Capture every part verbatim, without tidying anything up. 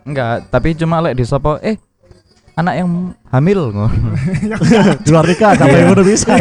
Enggak, tapi cuma lek disopo eh anak yang hamil ngono. Di luar nikah sampai ngono bisa.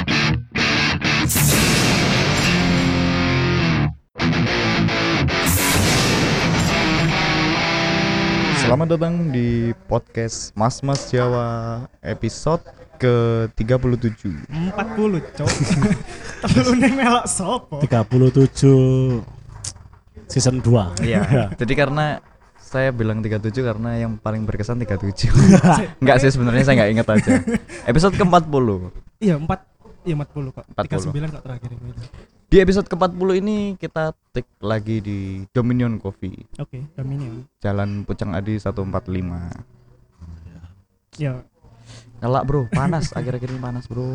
Selamat datang di podcast Mas Mas Jawa episode ke tiga puluh tujuh. empat puluh, Cok. Telune melok sopo? tiga puluh tujuh season dua. Iya. Jadi karena saya bilang tiga puluh tujuh karena yang paling berkesan tiga puluh tujuh. Enggak sih, sebenarnya saya enggak ingat aja. Episode ke empat puluh. Iya, empat Iya empat puluh kok. empat puluh. tiga puluh sembilan kok terakhir ini. Di episode ke empat puluh ini kita take lagi di Dominion Coffee. Oke, Dominion. Jalan Pucang Adi seratus empat puluh lima. Ya, Ngelak bro, panas akhir-akhir ini panas bro.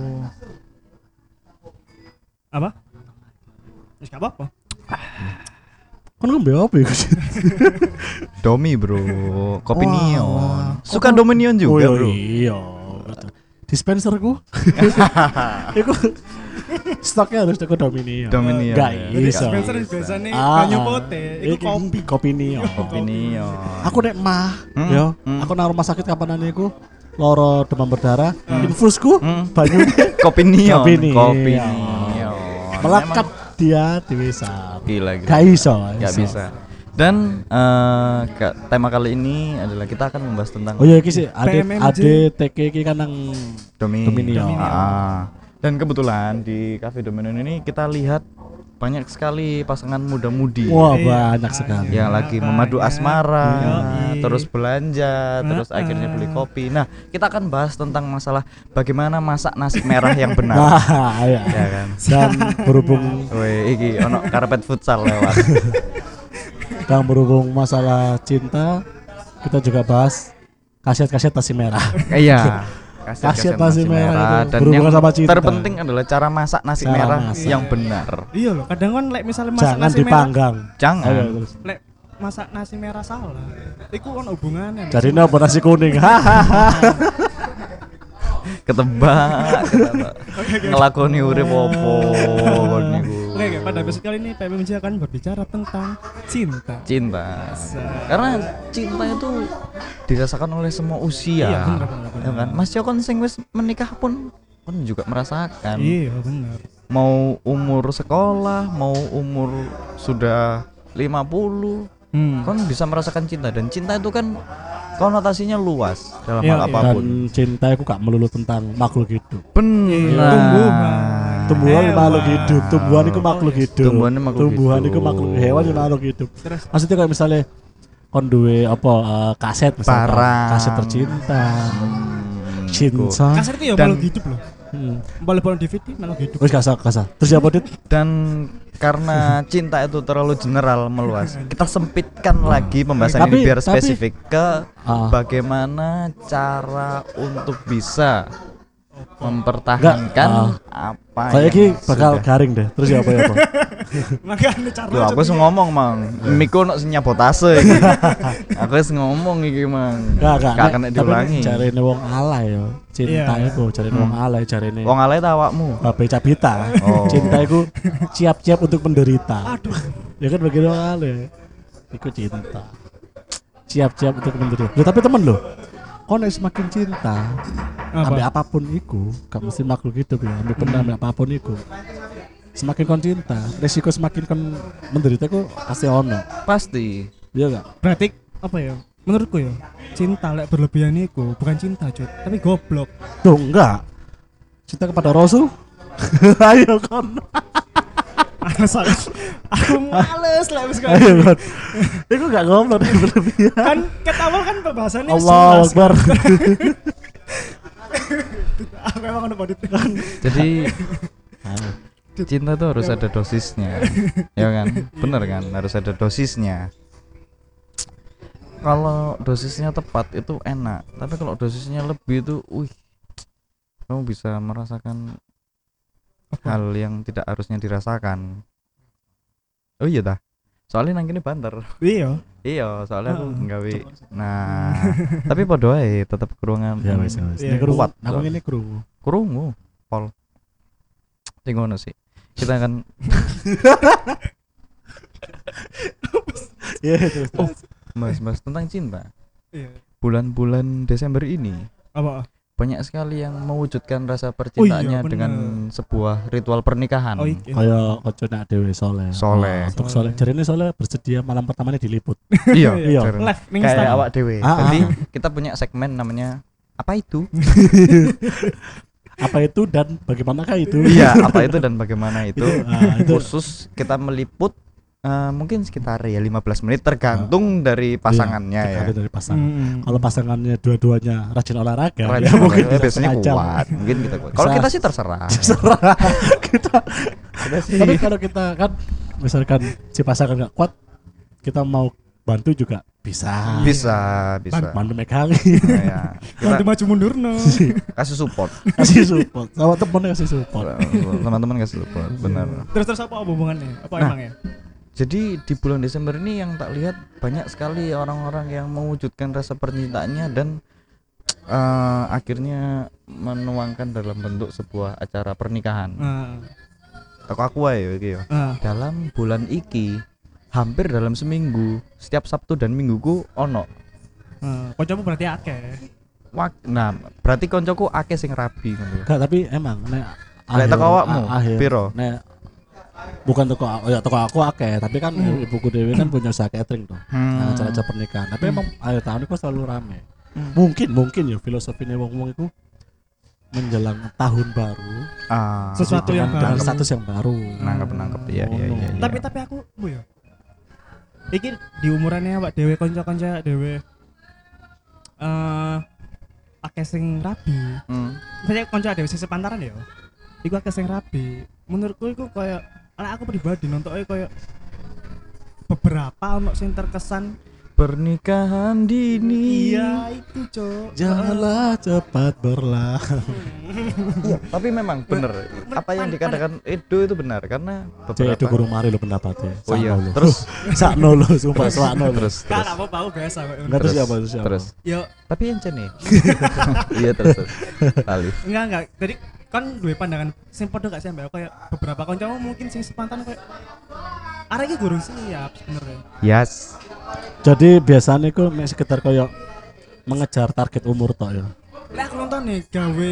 apa? Wis gak apa-apa. Kan ngombe apa ya? Domi bro, kopi Wah, neon. wah. Suka Dominion juga Oh, bro. iya. Dispenserku. Iku stoknya harus teko Dominion. Dominion. Enggak Ya. Jadi iso. Spencer biasanya Ah, banyu pote, iku iki kopi. kopi neon. Kopi neon. Aku nek mah, Hmm, yo, hmm. aku nang rumah sakit kapanan iku loro demam berdarah, infusku Hmm. banyu Kopi neon. Kopi neon. Kopi neon. melekat dia di wisat. Emang gila gitu. Gak iso, Gak iso. bisa. Dan eh, ke- tema kali ini adalah kita akan membahas tentang Oh iya iki sih, ade P M M J. ade T K iki kan nang Domi- Dominion. Ah. Dan kebetulan di Cafe Dominion ini kita lihat banyak sekali pasangan muda-mudi. wah Iya, banyak sekali. Yang lagi memadu Banyak. asmara, Yoi. terus belanja, terus Heeh. akhirnya beli kopi. Nah, kita akan bahas tentang masalah bagaimana masak nasi merah yang benar. Nah, iya. Ya kan. Dan berhubung Woi, iki ono karpet futsal lewat. dan berhubung masalah cinta, kita juga bahas kaset-kaset nasi merah. Iya. Kaset nasi merah itu dan berhubungan yang sama cinta. terpenting adalah cara masak nasi Cara merah masak. yang benar. Iya loh, kadang kan lek misalnya masak Jangan nasi merah, dipanggang. Jangan. Ayo, terus. lek masak nasi merah salah. Iku ono hubungannya. Jadi apa nasi kuning? Hahaha. Ketebak, ketebak. Ngelakoni urip opo kon niku. Oke, oke, pada episode kali ini P M M J akan berbicara tentang cinta. Cinta. Karena cinta itu dirasakan oleh semua usia. Iya, bener, bener, bener. Ya kan? Mas Jokon sing wis menikah pun kan juga merasakan. Iya, benar. Mau umur sekolah, mau umur sudah lima puluh, Hmm. kan bisa merasakan cinta, dan cinta itu kan konotasinya luas dalam Iya, hal iya. apapun. Dan cinta itu gak melulu tentang makhluk hidup. Benar. Tumbuhan. Tumbuhan itu Hewan. makhluk hidup, tumbuhan itu makhluk hidup. Tumbuhan itu makhluk Tumbuhan hidup. itu makhluk hewan itu makhluk hidup. Terus Maksudnya kayak misalnya kon duwe apa eh, kaset misalnya Barang. kaset tercinta. Hmm, Cinta. kasar itu ya Dan- makhluk hidup loh. Hmm. Boleh-boleh D V D makhluk hidup. Wis kasar kasar. Terus apa dit? Dan karena cinta itu terlalu general, meluas, kita sempitkan lagi pembahasan Tapi- ini biar tapi- spesifik ke Ah. bagaimana cara untuk bisa mempertahankan apa Kayak yang iki bakal sudah. garing deh. Terus ya apa ya apa? Makanya cara Loh, aku wis ngomong mang, miku nak nyabotase iki. Aku wis ngomong iki mang. Gak gak. Gak kena diulangi. Jarene wong alay yo. Cinta Iya. iku jarene wong alay jarene. Wong alay ta awakmu? Babe Cabita. Oh. Cinta iku siap-siap untuk menderita. Aduh. Ya kan bagi wong alay. Iku cinta. Siap-siap untuk menderita. Loh, tapi temen loh. Kau nek semakin cinta, Apa? ambil apapun iku, gak mesti makhluk hidup ya, ambil benda, ambil apapun iku. Semakin kon cinta, resiko semakin kon menderita iku pasti ono. Pasti. Iya gak? Berarti apa ya? Menurutku ya, cinta lek berlebihan itu bukan cinta, Cut, tapi goblok. Tuh enggak. Cinta kepada Rasul. Ayo kon. Alasan aku males lek wis kayak Ayo gini. kon. Iku gak goblok berlebihan. Kan ket awal kan pembahasannya Allahu sebelas. Akbar. Aku emang ada bodit. Jadi cinta itu harus ada dosisnya, ya kan? Bener kan? Harus ada dosisnya. Kalau dosisnya tepat itu enak, tapi kalau dosisnya lebih itu, wih, kamu bisa merasakan hal yang tidak harusnya dirasakan. Oh iya dah. Soalnya nang kene banter. Iya. Iya, soalnya aku Heeh. nggawe. Nah, tapi podo ae tetep kurungan. Ya wis wis. Iya, Ini krungu. kuat. Aku ini krungu. Krungu, Pol. Sing ngono sih. Kita akan Iya terus. Oh, Mas-mas tentang cinta. Iya. Bulan-bulan Desember ini Apa? banyak sekali yang mewujudkan rasa Oh percintaannya iya, bener. dengan sebuah ritual pernikahan. Oh iya. Kayak kocone dhewe soleh. Soleh. Oh, untuk Soleh. soleh. Jarine soleh bersedia malam pertamanya diliput. Iya, Iya. jaren. Live ning Kayak Instagram. awak dewe. Ah, Jadi ah. kita punya segmen namanya apa itu? Apa itu dan bagaimanakah itu? Iya, apa itu dan bagaimana itu? ah, itu Khusus kita meliput eh, mungkin sekitar ya lima belas menit tergantung dari pasangannya iya, ya. tergantung dari pasangan. Mm. Kalau pasangannya dua-duanya rajin olahraga, Rajin ya mungkin olahraga, bisa biasanya setengah jam. kuat, mungkin kita kuat. Kalau Bisa. kita sih terserah. Terserah kita. Kita sih Tapi kalau kita kan misalkan si pasangan nggak kuat, kita mau bantu juga bisa. bisa, bisa. Bantu megang, Nah, ya. Bantu Kita maju mundur no. kasih support. kasih support. Sama temen kasih support. Teman-teman kasih support, benar. Terus terus apa hubungannya? Apa Nah. emangnya? Jadi di bulan Desember ini yang tak lihat banyak sekali orang-orang yang mewujudkan rasa percintaannya dan eh, akhirnya menuangkan dalam bentuk sebuah acara pernikahan. Nah, Toko aku ae iki yo. nah. Dalam bulan iki hampir dalam seminggu setiap Sabtu dan Mingguku ono. Nah, kancamu berarti akeh. Wak- Nah, berarti koncoku akeh sing rabi ngono. Gak, tapi emang nek Lek akhir- teko awakmu, a- akhir, piro? nek bukan toko oh ya toko aku akeh, tapi kan Hmm. ibuku dewi kan punya usaha catering tuh. Nah, acara-acara pernikahan. Tapi emang akhir tahun itu selalu rame. Hmm. Mungkin mungkin ya filosofinya wong-wong itu menjelang tahun baru Ah, Sesuatu yang dengan baru. status yang baru. nangkep nangkep ya ya Oh, ya. no. Tapi tapi aku bu ya. Iki di umurannya awak dhewe kanca-kanca dhewe eh akeh sing rabi. Hmm. Misalnya kanca dhewe sing sepantaran ya. Iku akeh sing rabi. Menurutku iku kayak ala aku pribadi nontonnya kayak beberapa ono sing terkesan Pernikahan dini. iya itu cok. Janganlah cepat berlalu. Iya, tapi memang bener apa yang dikatakan Edo itu benar karena Jadi itu beberapa gurung mari lo pendapatnya. Oh iya, Sakno lo. terus sakno lo, sumpah sakno lo. terus Gak terus gak mau bau biasa kok. Enggak terus siapa terus siapa? terus Yo tapi ente nih. Iya terus terus. Alif. enggak enggak. Jadi kan duwe pandangan sing padha gak sih ambek aku kayak beberapa kancamu mungkin sing sepantaran kayak arek iki gurung siap sebenarnya. Yes. Jadi biasanya itu mek sekitar kayak mengejar target umur tok ya. Lah aku nonton nih gawe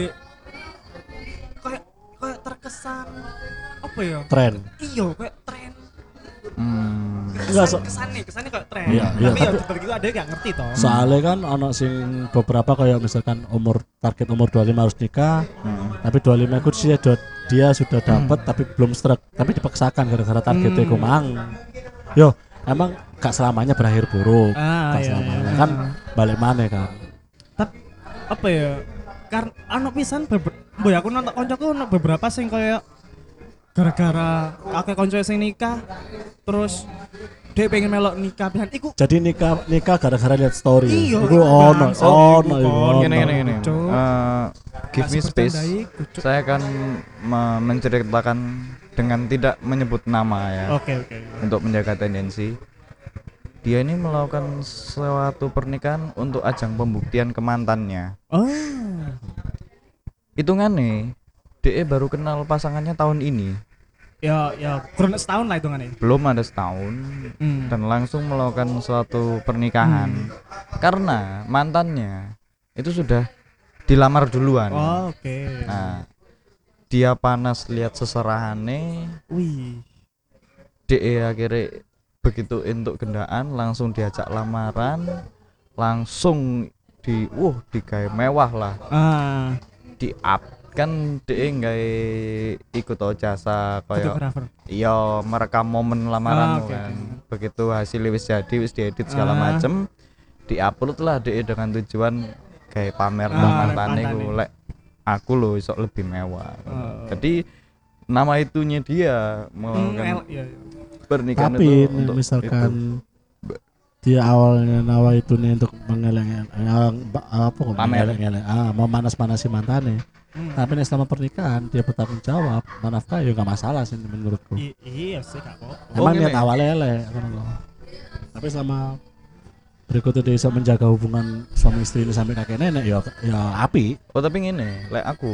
kayak kayak terkesan apa ya? Tren. Iya kayak tren. Hmm. Enggak, so- kesan nih, kesannya kayak tren. Iya, iya, Tapi ya tapi- dibalik itu ada yang gak ngerti toh. Soalnya kan ono sing beberapa kayak misalkan umur target umur dua puluh lima harus nikah, Hmm. tapi dua puluh lima itu dia, dia sudah dapat tapi belum stroke, tapi dipaksakan gara-gara targetnya Hmm. ku mang. Yo, emang gak selamanya berakhir buruk. Ah, Gak iya, selamanya iya. kan balik mana kan. Tapi apa ya? Karena anu pisan beber- boy aku nonton koncoku ono beberapa sing kayak gara-gara akeh konco sing nikah terus dia pengen melok nikah pisan iku Jadi nikah nikah gara-gara lihat story. Iya, Iku ono, bangsat ono, iku, iku kon. ono. Gini gini gini. Cuk. Eh, give me Gak space. sebercanda iku, Cuk. Saya akan me- menceritakan dengan tidak menyebut nama ya. Oke oke. Untuk menjaga tendensi. Dia ini melakukan suatu pernikahan untuk ajang pembuktian ke mantannya. Oh. Hitungannya D E baru kenal pasangannya tahun ini. Ya ya kurang setahun lah hitungannya. Belum ada setahun Hmm. dan langsung melakukan suatu pernikahan. Karena mantannya itu sudah dilamar duluan. Oh, oke. Nah, dia panas lihat seserahannya, Wih. D E akhirnya begitu entuk gendaan langsung diajak lamaran, langsung di uh digawe mewah lah, Ah, di up kan D E nggak ikut oh jasa kayak fotografer. iya merekam momen Ah, lamaran oke, kan. oke. Begitu hasil wis jadi wis diedit segala Ah. macem, diupload lah D E dengan tujuan kayak pamer Ah, nang mantane mantane. ku lek aku loh isok lebih mewah. Oh. Jadi nama itunya dia mau Hmm, kan el- iya, iya. pernikahan Tapi itu untuk misalkan itu. dia awalnya nawa itu nih untuk mengeleng yang apa kok Pamer. mengeleng ah mau manas-manasi mantannya. Hmm. Tapi nih selama pernikahan dia bertanggung jawab, menafkah ya nggak masalah sih menurutku. I- iya sih gak apa-apa. Oh, Emang gini. niat awalnya elek ngono loh. Tapi selama berikutnya dia bisa menjaga hubungan suami istri ini sampai kakek nenek ya ya api. Oh tapi ngene, lek aku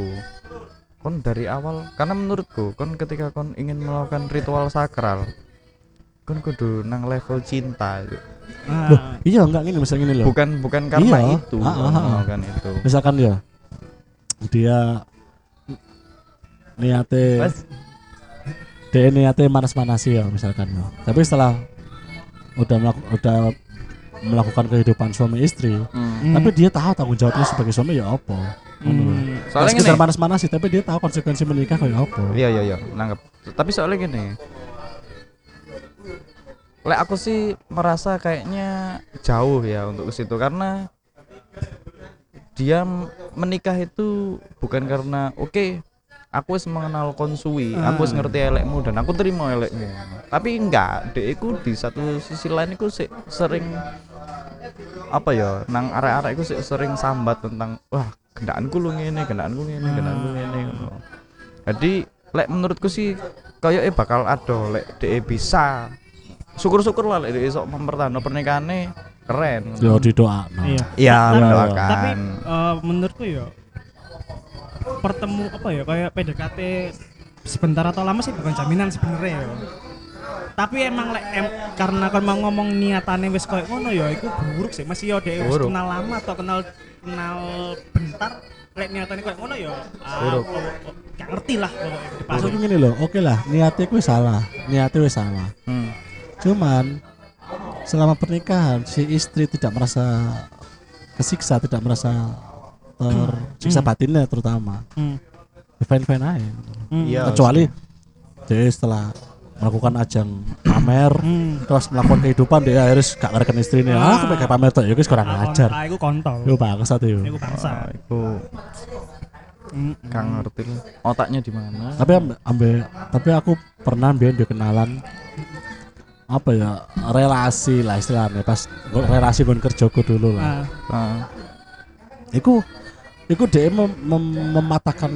kon dari awal karena menurutku kon ketika kon ingin melakukan ritual sakral kon kudu nang level cinta. Loh, Ah, iya enggak gini misalnya gini loh. Bukan bukan karena Iya. itu. Ah, ah, ah. Bukan itu. Misalkan ya dia niate Mas, dia niate manas-manasi ya misalkan ya. Tapi setelah udah melaku- udah melakukan kehidupan suami istri, hmm. hmm, tapi dia tahu tanggung jawabnya sebagai suami ya apa. Ngono lho. hmm, Soalnya Soalnya sekedar gini. manas-manasi tapi dia tahu konsekuensi menikah kayak apa. Iya iya iya, nangkep. Tapi soalnya gini. Lek aku sih merasa kayaknya jauh ya untuk ke situ karena dia m- menikah itu bukan karena oke aku wis mengenal konsui, aku wis ngerti elekmu dan aku terima elekmu. Tapi enggak, dek iku di satu sisi lain iku sih sering apa ya, nang arek-arek iku sih sering sambat tentang wah, gendakanku lu ngene, gendakanku ngene, gendakanku ngene ngono. Jadi lek menurutku sih kayaknya bakal ada lek dek bisa. Syukur-syukur lah lek dek iso mempertahankan pernikahannya keren. Yo didoakno. iya. Iya, Tapi- mendoakan. Tapi eh, menurutku ya pertemu apa ya kayak P D K T sebentar atau lama sih bukan jaminan sebenarnya ya. Tapi emang lek em, karena kan mau ngomong niatane wis koyo ngono ya iku buruk sih. Masih yo dhek wis Buruk. kenal lama atau kenal kenal bentar lek niatane koyo ngono ya. Ah, Buruk. oh, oh, gak ngerti lah pokoknya di Maksudku gini loh, oke lah, niatnya gue salah, niatnya gue salah. Hmm. Cuman selama pernikahan si istri tidak merasa kesiksa, tidak merasa tersiksa Hmm. batinnya terutama. Hmm. Fine fine aja. Hmm. Iya. Kecuali dia setelah melakukan ajang pamer, Hmm. terus melakukan kehidupan dia harus gak ngerekan istrinya. Ah, aku pengen pamer tuh, ya guys kurang Ah, ajar. Ah, iku kontol. Yo bangsat yo. Iku Ah, bangsa. iku Hmm. gak ngerti lah otaknya di mana. Tapi ambe, ambe- tapi aku pernah biar dia kenalan apa ya relasi lah istilahnya pas gua- relasi gue kerjaku dulu lah. Ah, Ah. Iku iku dia mem, mem- mematahkan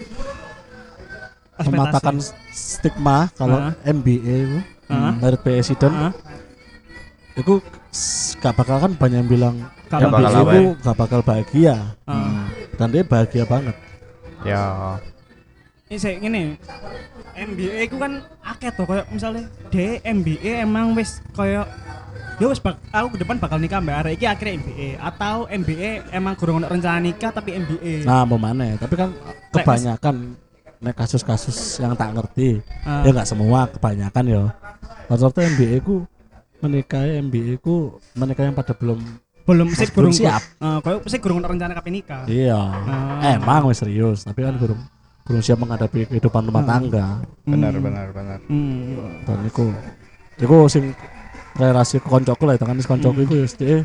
ekspektasi. mematahkan stigma kalau Ah. M B A itu Ah. merit president Ah. itu s- gak bakal kan banyak yang bilang Gak M B A bakal apa itu ya? gak bakal bahagia Ah. Hmm. dan dia bahagia banget. Ya. Ini saya gini, M B A itu kan akeh tuh, kayak misalnya D M B A emang wis kayak ya wis bak, aku ke depan bakal nikah mbak arek iki akhirnya M B A atau M B A emang kurang ono rencana nikah tapi M B A. Nah mau mana tapi kan kebanyakan nek kasus-kasus yang tak ngerti Ah. ya nggak semua kebanyakan ya rata-rata M B A ku menikahi M B A ku menikah yang pada belum belum sih belum kurang siap. Uh, kayak sih kurang ono rencana kapan nikah. iya Ah. emang wis serius tapi kan belum belum siap menghadapi kehidupan rumah tangga Benar Hmm. benar benar. Hmm. dan iku iku sing relasi ke koncoku lah itu kan koncoku iku ya dia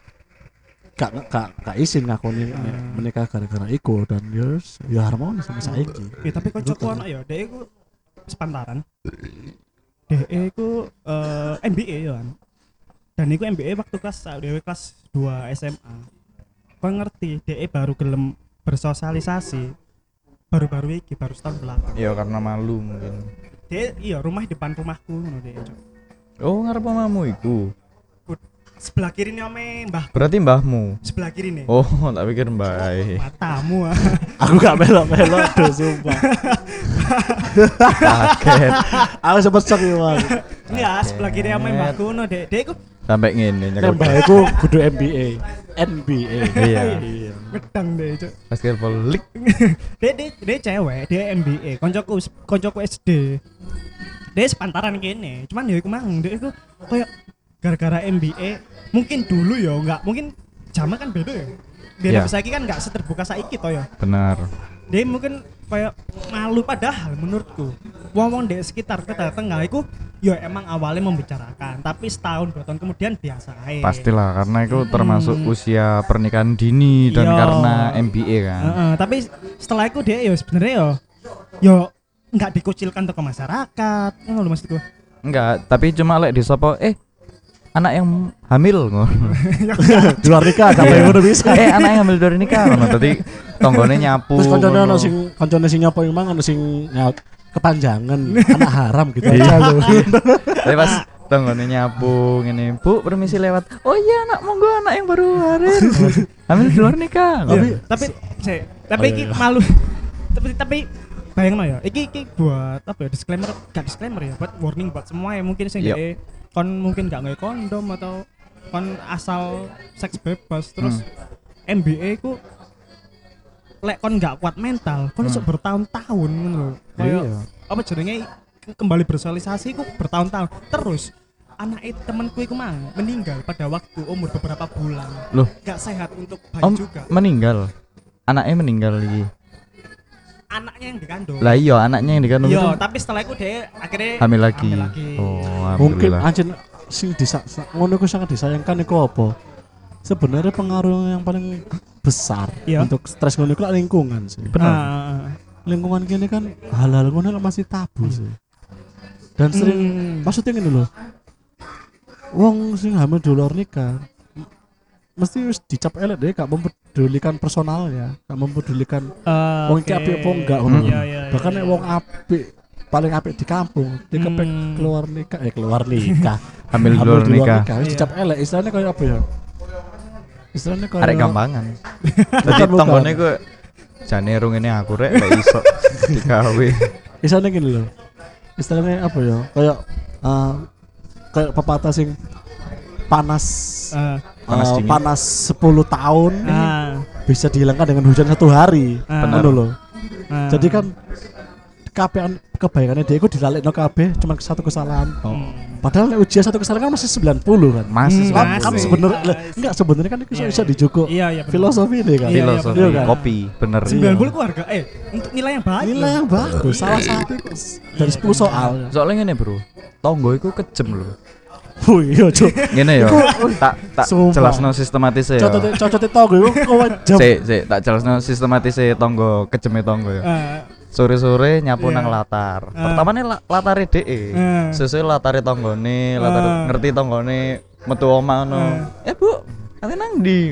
gak gak gak izin ngakoni menikah gara-gara iku dan ya wis, ya harmonis sama saiki. Ya tapi kocokku ono ya, dhek iku sepantaran. Dhek iku eh, M B A ya kan. Dan iku M B A waktu kelas dhewe kelas dua S M A. Kau ngerti, dhek baru gelem bersosialisasi baru-baru iki baru setahun belakang. Ya karena malu mungkin. Dhek iya rumah di depan rumahku ngono dhek. Cok. Oh, ngarep omamu iku. Sebelah kiri nih ome mbah, Berarti mbahmu. sebelah kiri nih. Oh, tak pikir mbak. Matamu ah. Aku gak melok-melok tuh sumpah. Kaget. Aku sempet shock ya Bang. Iya, sebelah kiri ome mbahku ngono dhek. Dhek iku Sampai ngene nyekut. Nembah iku kudu M B A, N B A. Iya. Iya. ngedang deh, Cok. Basketball league. Dia dia dia cewek, dia M B A. Koncoku koncoku S D. Dia sepantaran gini. Cuman ya iku mang, dia iku kayak gara-gara M B A mungkin dulu ya enggak, mungkin zaman kan beda ya. Biar Iya. yeah. saiki kan enggak seterbuka saiki toh ya. Benar. Dia mungkin kayak malu padahal menurutku. Wong-wong di sekitar kita tengah iku ya emang awalnya membicarakan, tapi setahun dua tahun kemudian biasa aja. Pastilah karena itu Hmm. termasuk usia pernikahan dini dan Iya. karena M B A kan. Heeh, tapi setelah itu dia ya sebenarnya ya ya nggak dikucilkan ke masyarakat, ngono lho maksudku. Enggak, tapi cuma lek di sopo eh anak yang hamil ngono. Di luar nikah gak Iya. ngono bisa. Eh anak yang hamil dari nikah ngono. Dadi tonggone nyapu. Terus koncone ngono. ono sing koncone sing nyopo yang mang ono sing nyaut kepanjangan anak haram gitu Iya. aja lho. Tapi pas tonggone nyapu ngene, "Bu, permisi lewat." "Oh iya, Nak, monggo anak yang baru hamil." Hamil di luar nikah. Tapi tapi saya tapi Oh, iki iya, iya. malu. tapi tapi bayangno ya. Iki iki buat apa ya disclaimer, gak disclaimer ya, buat warning buat semua ya mungkin sing Yep. dhek kon mungkin gak nge kondom atau kon asal seks bebas terus M B A ku lek kon gak kuat mental, kon iso bertahun-tahun ngono lho. Kayak Iya. apa jenenge ke- kembali bersosialisasi ku bertahun-tahun. Terus anak temanku iku mang meninggal pada waktu umur beberapa bulan. Loh, Gak sehat untuk bayi om juga. meninggal. Anaknya meninggal lagi. Anaknya yang dikandung. Lah iya, anaknya yang dikandung Iya, itu tapi setelah itu dia akhirnya hamil lagi. hamil lagi. Oh, Mungkin alhamdulillah. anjir sing disa sa- ngono iku sangat disayangkan iku apa? Sebenarnya pengaruh yang paling besar Iya. untuk stres ngono iku lah lingkungan sih. Benar. Ah, Lingkungan kini kan hal-hal ngono lah masih tabu sih. Dan sering Hmm. maksudnya ngene lho. Wong sing hamil di luar nikah m- mesti wis dicap elek deh, gak mempedulikan personalnya, gak mempedulikan eh, wong iki oke. apik apa enggak ngono. Iya, iya, Bahkan iya, nek iya. wong apik paling apik di kampung, dia kepek Hmm. keluar nikah, eh keluar nikah. Hamil di Hamil luar di luar nikah. nikah wis Iya. dicap elek, istilahnya kayak apa ya? Istilahnya kayak Arek gampangan. Jadi Bukan, bukan. tanggone ku jane rung ini aku rek gak iso digawe. Istilahnya gini loh. Istilahnya apa ya? Kayak eh, kayak pepatah sing panas Ah, Panas eh, dingin. panas sepuluh tahun ah, bisa dihilangkan dengan hujan satu hari. Ah. Ngono loh. ah. Jadi kan kabeh kebaikannya dia itu dilalekno kabeh cuma satu kesalahan. tok. Hmm. Padahal nek ujian satu kesalahan kan masih sembilan puluh kan. Masih Hmm, Kan, sembilan kan puluh. sebenarnya Masih. enggak sebenarnya kan itu Iya, bisa iya. dijugo Iya, iya, bener. filosofi ini kan. Iya, iya, Filosofi bener kan? kopi, bener. sembilan puluh ku harga eh untuk nilai yang baik. Nilai yang bagus, salah satu itu dari sepuluh soal. Soalnya ngene, Bro. Tonggo iku kejem lho. Wih, iya, Cuk. Ngene ya. Tak tak Sumpah. jelasno sistematis ya. Cocote cocote tonggo iku kowe jam. Sik, sik, tak jelasno sistematis tonggo, kejeme tonggo ya. Ah, Sore-sore nyapu Iya. nang latar. Ah. Pertamane la, latare dhek. Ah. Sesuai latare tanggane, latar Ah. ngerti tanggane metu omah ngono. Eh, Bu, ate nang ndi?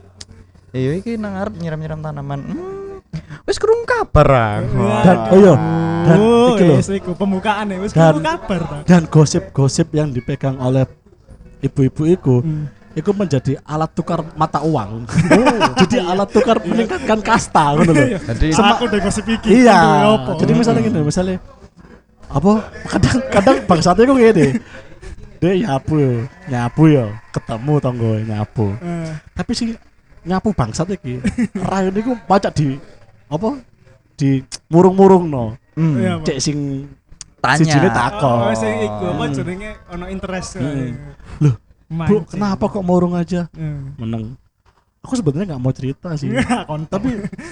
Iya iki nang arep nyiram-nyiram tanaman. Hmm. Wis krungu kabar ah. Dan oh iya, dan oh, iki lho. wis iku pembukaan ya, wis Dan- kudu kabar ta. Dan gosip-gosip yang dipegang oleh ibu-ibu itu Hmm. itu menjadi alat tukar mata uang. Jadi alat tukar meningkatkan kasta ngono lho. Jadi Sema- Aku udah gosip iki. Iya. Aduh, apa? Jadi misalnya gini, misalnya apa kadang-kadang bangsatnya kok gini. Dia nyapu yo, nyapu yo, ketemu tonggo nyapu. Eh, Tapi sih nyapu bangsat iki rayon iku pacak di apa? Di murung-murung no. hmm, Iya, Pak. Cek sing tanya. sijine takon. Oh, sing iku apa Hmm. jenenge ono interest. Hmm. Loh, Bu, Mancing. kenapa kok murung aja? Hmm. Meneng. Aku sebenarnya nggak mau cerita sih. Kontol. Tapi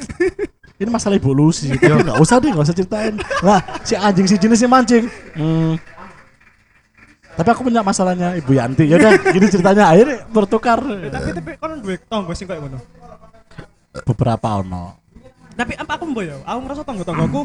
ini masalah evolusi. Tapi nggak usah deh, nggak usah ceritain. Lah, si anjing si jenisnya mancing. Hmm. Tapi aku punya masalahnya Ibu Yanti. Ya udah, gini ceritanya akhirnya bertukar. Eh, tapi tapi kon duwe tonggo sing koyo ngono. Beberapa ono. Tapi apa aku mboyo? Aku ngerasa tonggo-tonggoku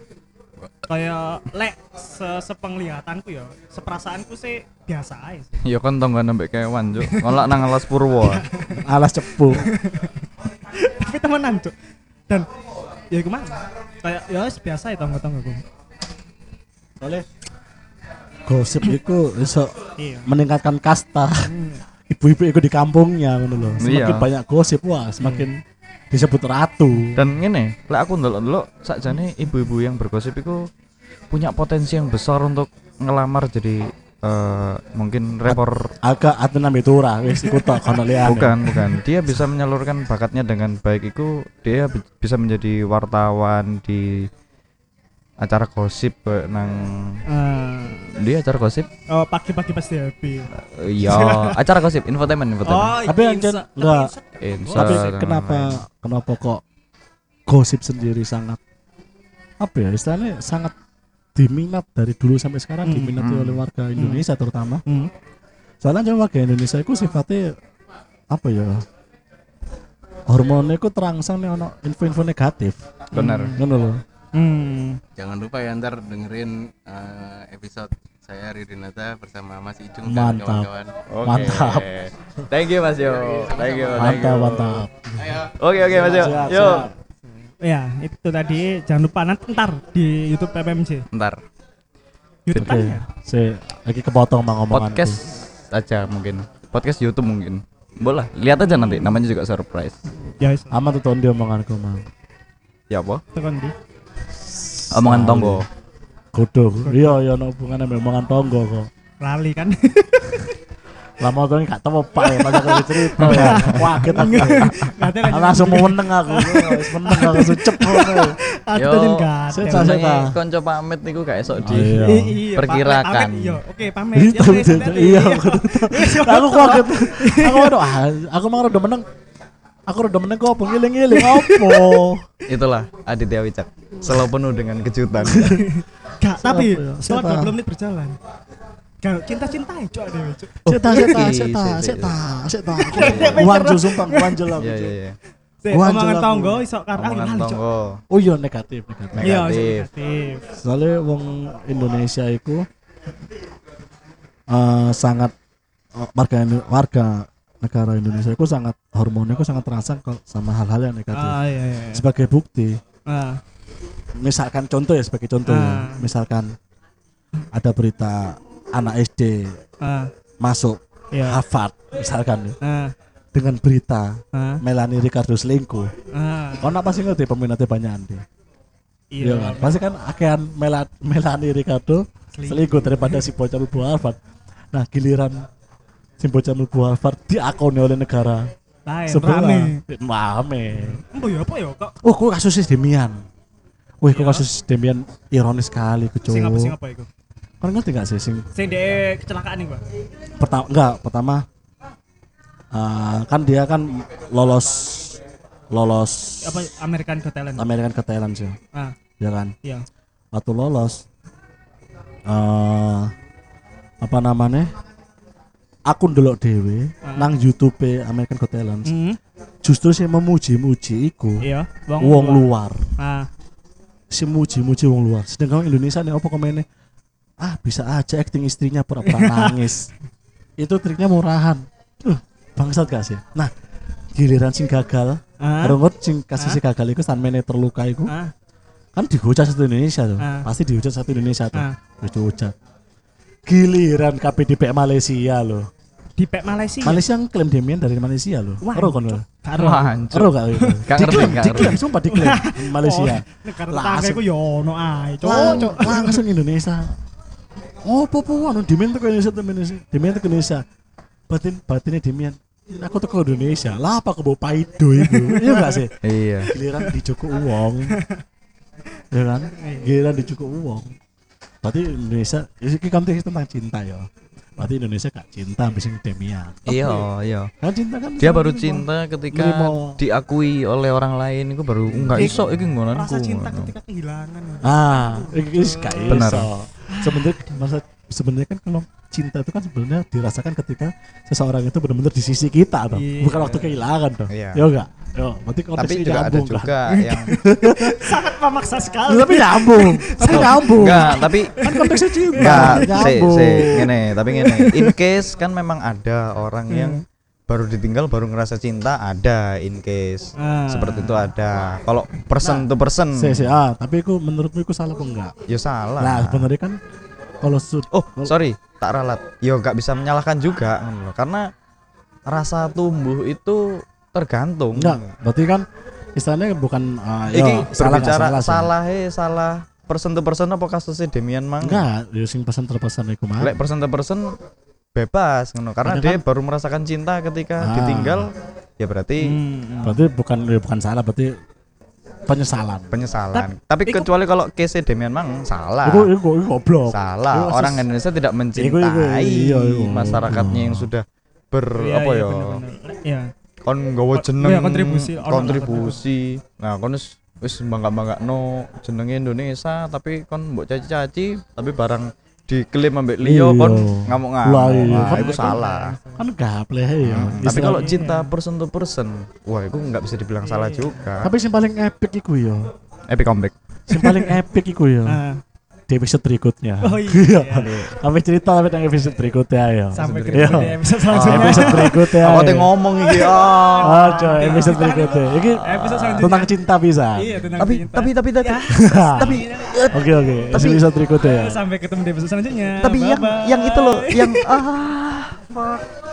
kayak lek se sepenglihatanku ya, seperasaanku sih biasa aja sih. Ya kan tonggo nembek kewan, Cuk. Nolak nang alas purwo. Alas cepu. Tapi temenan, Cuk. Dan ya gimana? Kayak ya wis biasa ya tonggo-tonggoku. Soalnya gosip itu bisa Iya. meningkatkan kasta. Hmm. Ibu-ibu itu di kampungnya ngono loh. Semakin Iya. banyak gosip wah, semakin disebut ratu. Dan ngene, lek aku ndelok-ndelok sakjane ibu-ibu yang bergosip iku punya potensi yang besar untuk ngelamar jadi eh, mungkin rapper. Agak atena mitura wis iku tok kono liyane. Bukan, bukan. Dia bisa menyalurkan bakatnya dengan baik. Itu dia bi- bisa menjadi wartawan di acara gosip eh, nang Eh, dia acara gosip. oh pagi-pagi pasti happy. Eh, Iya, acara gosip, infotainment, infotainment. Oh, Tapi yang Insa- jen- enggak. Insa- Insa Tapi dan kenapa lain-lain. kenapa kok gosip sendiri sangat apa ya istilahnya sangat diminat dari dulu sampai sekarang Hmm. diminati Hmm. oleh warga Indonesia terutama. Hmm. Soalnya kan warga Indonesia itu sifatnya apa ya? Hormonnya itu terangsang nih ono info-info negatif. Benar. Ngono loh. Hmm. Jangan lupa ya ntar dengerin eh, episode saya Riri Nata bersama Mas Icung dan Mantap. kawan-kawan. Oke. Mantap. Thank you Mas Yo. Thank you. thank Mantap, you. mantap. Ayo. Oke, oke Mas Yo. Siap, Yuk. siap. Ya, itu tadi jangan lupa nanti ntar di YouTube P P M C. Ntar YouTube Oke, tanya. saya lagi kepotong bang omonganku. podcast aja mungkin. Podcast YouTube mungkin. Boleh, lihat aja nanti. Namanya juga surprise. Ya, wis. Aman tuh dia omonganku mang. Ya apa? Tekan di. Omongan tonggo. Kudu. Iya iya ono hubungane mbek omongan tonggo kok. Lali kan. Lah motor gak tau Pak ya pas aku cerita ya. Kaget aku. Ngate Aku langsung mau meneng aku. Wis meneng aku langsung cepet. Aku Yo, tadi enggak. Seta, seta. Jenenge kanca pamit niku gak esok di Oh, iya. Iya, perkirakan. pamit, Iya, oke pamit. Iya, Ya, wes, hati-hati. iya, aku aku kaget. Aku waduh, ah, aku mau udah meneng. Aku udah meneng kok ngiling-ngiling opo. Itulah Aditya Wicak. Selalu penuh dengan kejutan. Gak, tapi Siapa ya? setelah Siapa? dua puluh menit berjalan. Gak cinta-cinta ya, cok deh, cok. Seta, Oh, seta, iki, seta, sik, sik, seta, seta. Wanjul sumpah, wanjul aku. Iya iya iya. Sik, Gua omongan anjel aku. tonggo iso karo Omongan lali, cok. tonggo. Oh iya negatif, negatif. Negatif. Iya, iso negatif. Soalnya wong Indonesia itu eh, sangat eh, warga warga negara Indonesia itu sangat hormonnya itu sangat terasa kok sama hal-hal yang negatif. Ah, iya iya. Sebagai bukti, Ah, misalkan contoh ya sebagai contoh, Ah. misalkan ada berita anak S D ah, masuk iya. Harvard misalkan ya, Ah, dengan berita ah, Melanie Ricardo selingkuh. ah. Kau nak pasti ngerti peminatnya banyak andi. Iya kan? Pasti kan akean Mela, Melanie Ricardo selingkuh daripada si bocah mlebu Harvard. Nah, giliran si bocah mlebu Harvard diakoni oleh negara Lain, sebelah. rame. Rame. Embo ya apa ya kok? Oh, kok kasusnya Demian. Wih, kok kasus Demian ironis sekali kecoh. Sing apa sing apa iku? Kau ngerti gak sih sing Sing dek kecelakaan nih, Pak. pertama enggak pertama eh, kan dia kan lolos lolos Apa American Got Talent? American Got Talent sih, Ah, ya kan? iya. Waktu lolos eh apa namanya? Akun delok dhewe Ah. nang YouTube American Got Talent. Hmm. Justru sih memuji-muji iku Iya, wong luar. Ah, Si muji-muji wong luar. Sedangkan Indonesia nih apa komennya? Ah, bisa aja acting istrinya pura-pura nangis. Itu triknya murahan. Tuh, bangsat gak sih? Nah, giliran sing gagal, ah, Rongot sing kasus si gagal iku samene terluka iku ah, kan dihujat satu Indonesia tuh. Ah. Pasti dihujat satu Indonesia tuh. Ah. Wis dihujat. Giliran K P D P Malaysia loh. di pek Malaysia. Malaysia ngeklaim Demian dari Malaysia loh. Wah, Ero kon lho. Karo. Wah, hancur. Ero gak itu? Gak ngerti, Diklaim, gak diklaim, ngerti. sumpah diklaim Malaysia. Oh, negara Lah, tetangga asik. iku yo ono ae, cok. Lang- Cok. langsung Indonesia. Oh, popo anu Demian tuh ke Indonesia tuh Indonesia. Demian tuh ke Indonesia. Batin batinnya Demian. Aku tuh ke Indonesia. Lah apa ke bawa paido itu? Iya gak sih? Iya. Giliran dicukup uang. Ya kan? Giliran dicukup uang. Berarti Indonesia ini konteks tentang cinta ya. Berarti Indonesia gak cinta ambis Demian. Iya, iya. Kan cinta kan Dia sama baru gitu, cinta ketika Nerimo. diakui oleh orang lain itu baru enggak iso iki nggonanku. Rasa cinta ketika kehilangan. Ah, ini gak Benar. iso. Sebenarnya masa sebenarnya kan kalau cinta itu kan sebenarnya dirasakan ketika seseorang itu benar-benar di sisi kita toh, Iya. bukan waktu kehilangan toh. Iya. Ya enggak? Yo, berarti Tapi konteksnya juga ada nyambung kan? juga yang Sangat memaksa sekali. Tapi nyambung, tapi nyambung. enggak, tapi Kan konteksnya cinta. enggak, se nyambung. se ngene, tapi ngene. In case kan memang ada orang yang baru ditinggal baru ngerasa cinta, ada in case. Ah. Seperti itu ada. Kalau person to person Se, se, ah, tapi itu menurutmu itu salah apa enggak? ya salah. Nah, sebenarnya kan kalau sud Oh, sorry, tak ralat. Yo gak bisa menyalahkan juga ngono loh. Karena rasa tumbuh itu tergantung. enggak, berarti kan istilahnya bukan uh, Iki yo, salah enggak berbicara salah, sih. salah he salah person to person apa kasusnya Demian mang? Enggak, yo sing pesan terpesan iku mah. Lek person to person bebas ngono karena Padahal dia kan- baru merasakan cinta ketika Ah. ditinggal ya berarti Hmm. Berarti bukan ya bukan salah, berarti penyesalan. penyesalan. Tapi iku- kecuali kalau case Demian mang salah. Iku iku iku goblok. Salah. Iku Orang kasus- Indonesia tidak Iku- mencintai iku- iya, iku. masyarakatnya yang sudah ber Iya, apa iya, ya? bener-bener. Iya. Kon nggawa jeneng iya, kontribusi, ono lah kontribusi. Nah, kon wis wis bangga-banggakno jenenge Indonesia tapi kon mbok caci-caci tapi barang diklaim ambek liya Iya. kon ngamuk-ngamuk. Lah, iya. Nah, Kan- itu salah. Kan gapleh ya. Tapi Istilah- kalau cinta person to person, wah itu nggak bisa dibilang salah juga. tapi sing paling epic iku ya. Epic comeback. Sing paling epic iku ya. Ah. Di episode berikutnya. Oh iya. Sampai cerita sampai nang episode berikutnya ya. Sampai Iya. ketemu di episode Oh, selanjutnya. episode berikutnya. Aku teh ngomong iki. Ah. Oh, coy, episode berikutnya. Iki Episode selanjutnya. tentang cinta bisa. Iya, tentang Tapi cinta. tapi tapi tapi Tapi oke oke, Tapi- episode berikutnya ya. Sampai ketemu di episode selanjutnya. tapi yang Bye-bye. yang itu loh, yang ah fuck.